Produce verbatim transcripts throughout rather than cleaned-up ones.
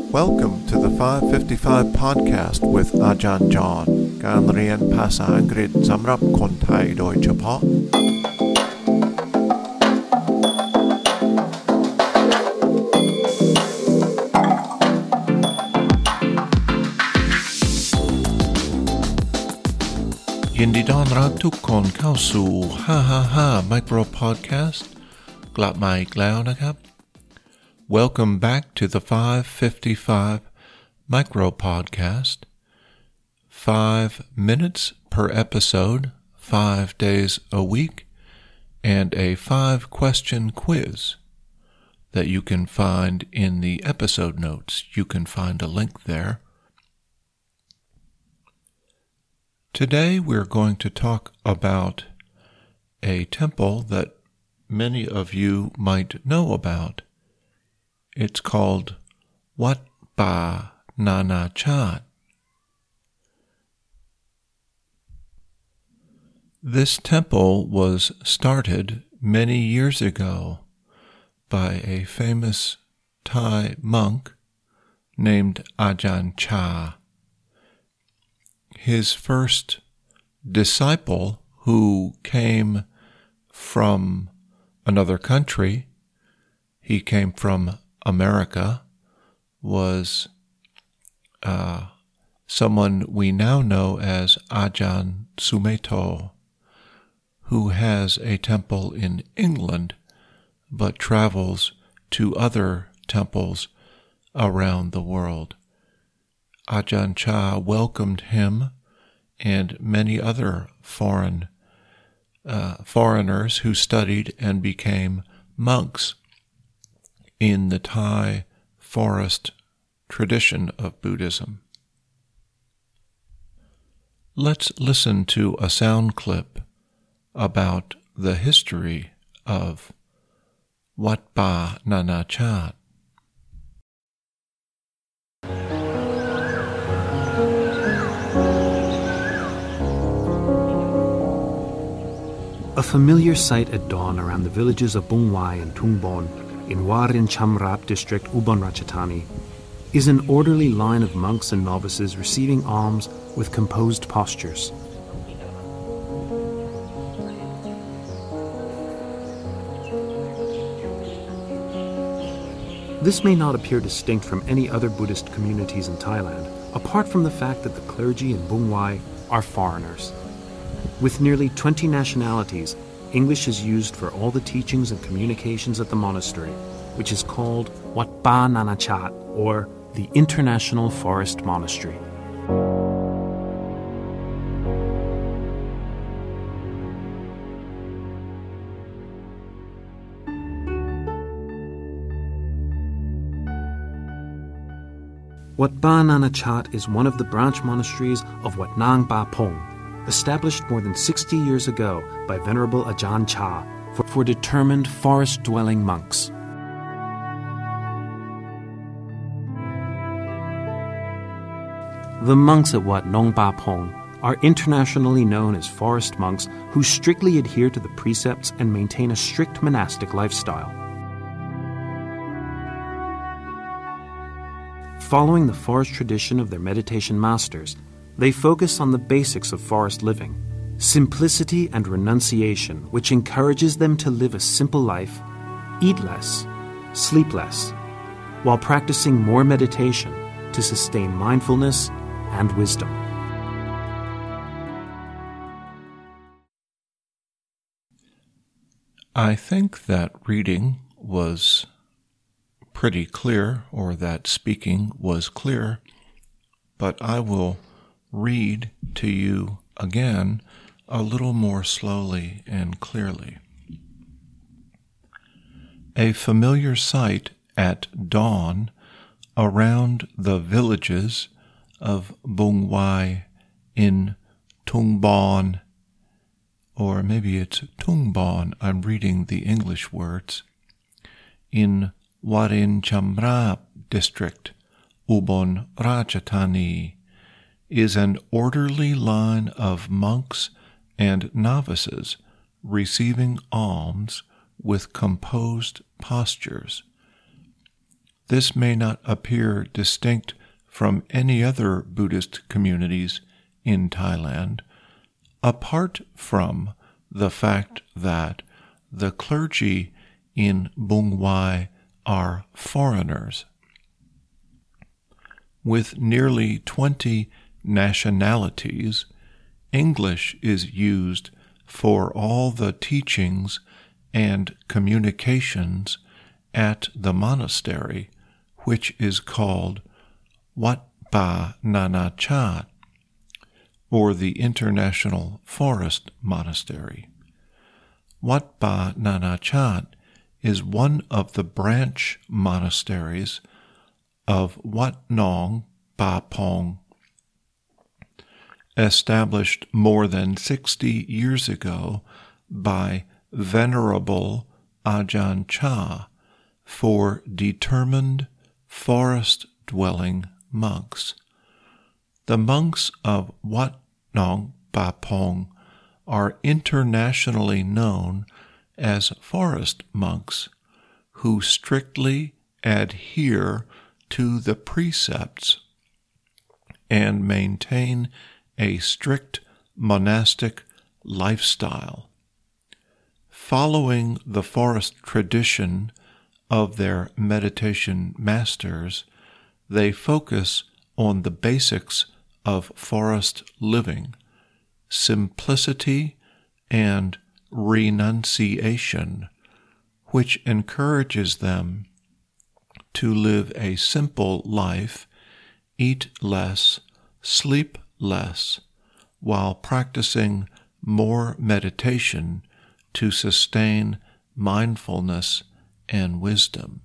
Welcome to the five fifty-five podcast with อาจารย์จอห์นการเรียนภาษาอังกฤษสำหรับคนไทยโดยเฉพาะยินดีต้อนรับทุกคนเข้าสู่ห้าห้าห้า Micro Podcast กลับมาอีกแล้วนะครับ Welcome back to the five fifty-five Micro Podcast. Five minutes per episode, five days a week, and a five-question quiz that you can find in the episode notes. You can find a link there. Today we're going to talk about a temple that many of you might know about. It's called Wat Pa Nana Chat. This temple was started many years ago by a famous Thai monk named Ajahn Chah. His first disciple, who came from another country, he came from America, was uh, someone we now know as Ajahn Sumedho, who has a temple in England but travels to other temples around the world. Ajahn Chah welcomed him and many other foreign uh, foreigners who studied and became monks in the Thai forest tradition of Buddhism. Let's listen to a sound clip about the history of Wat Pa Nana Chat. A familiar sight at dawn around the villages of Bung Wai and Tung Bon in Warin Chamrap district, Ubon Ratchathani, is an orderly line of monks and novices receiving alms with composed postures. This may not appear distinct from any other Buddhist communities in Thailand, apart from the fact that the clergy in Bung Wai are foreigners. With nearly twenty nationalities, English is used for all the teachings and communications at the monastery, which is called Wat Pa Nana Chat, or the International Forest Monastery. Wat Pa Nana Chat is one of the branch monasteries of Wat Nang Ba Pong, established more than sixty years ago by Venerable Ajahn Chah for, for determined forest-dwelling monks. The monks at Wat Nong Ba Pong are internationally known as forest monks who strictly adhere to the precepts and maintain a strict monastic lifestyle. Following the forest tradition of their meditation masters, they focus on the basics of forest living, simplicity and renunciation, which encourages them to live a simple life, eat less, sleep less, while practicing more meditation to sustain mindfulness and wisdom. I think that reading was pretty clear, or that speaking was clear, but I will read to you again a little more slowly and clearly. A familiar sight at dawn around the villages of Bung Wai in Tung Bon, or maybe it's Tung Bon, I'm reading the English words, in Warin Chamrap district, Ubon Ratchathani, is an orderly line of monks and novices receiving alms with composed postures. this may not appear distinct from any other Buddhist communities in Thailand, apart from the fact that the clergy in Bung Wai are foreigners. With nearly twenty nationalities, English is used for all the teachings and communications at the monastery, which is called Wat Pa Nana Chat, or the International Forest Monastery. Wat Pa Nana Chat is one of the branch monasteries of Wat Nong Pa Pong, established more than sixty years ago by Venerable Ajahn Chah for determined forest-dwelling monks. The monks of Wat Nong Pa Pong are internationally known as forest monks who strictly adhere to the precepts and maintain a strict monastic lifestyle. Following the forest tradition of their meditation masters, they focus on the basics of forest living, simplicity, and renunciation, which encourages them to live a simple life, eat less, sleep less, while practicing more meditation to sustain mindfulness and wisdom.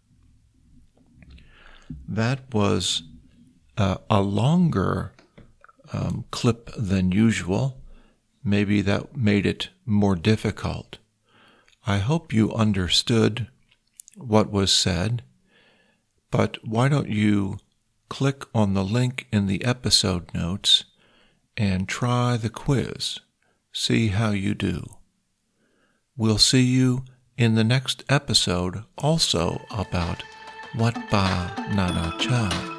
That was uh, a longer um, clip than usual. Maybe that made it more difficult. I hope you understood what was said, but why don't you click on the link in the episode notes and try the quiz. See how you do. We'll see you in the next episode also about Wat Pa Nana Chat.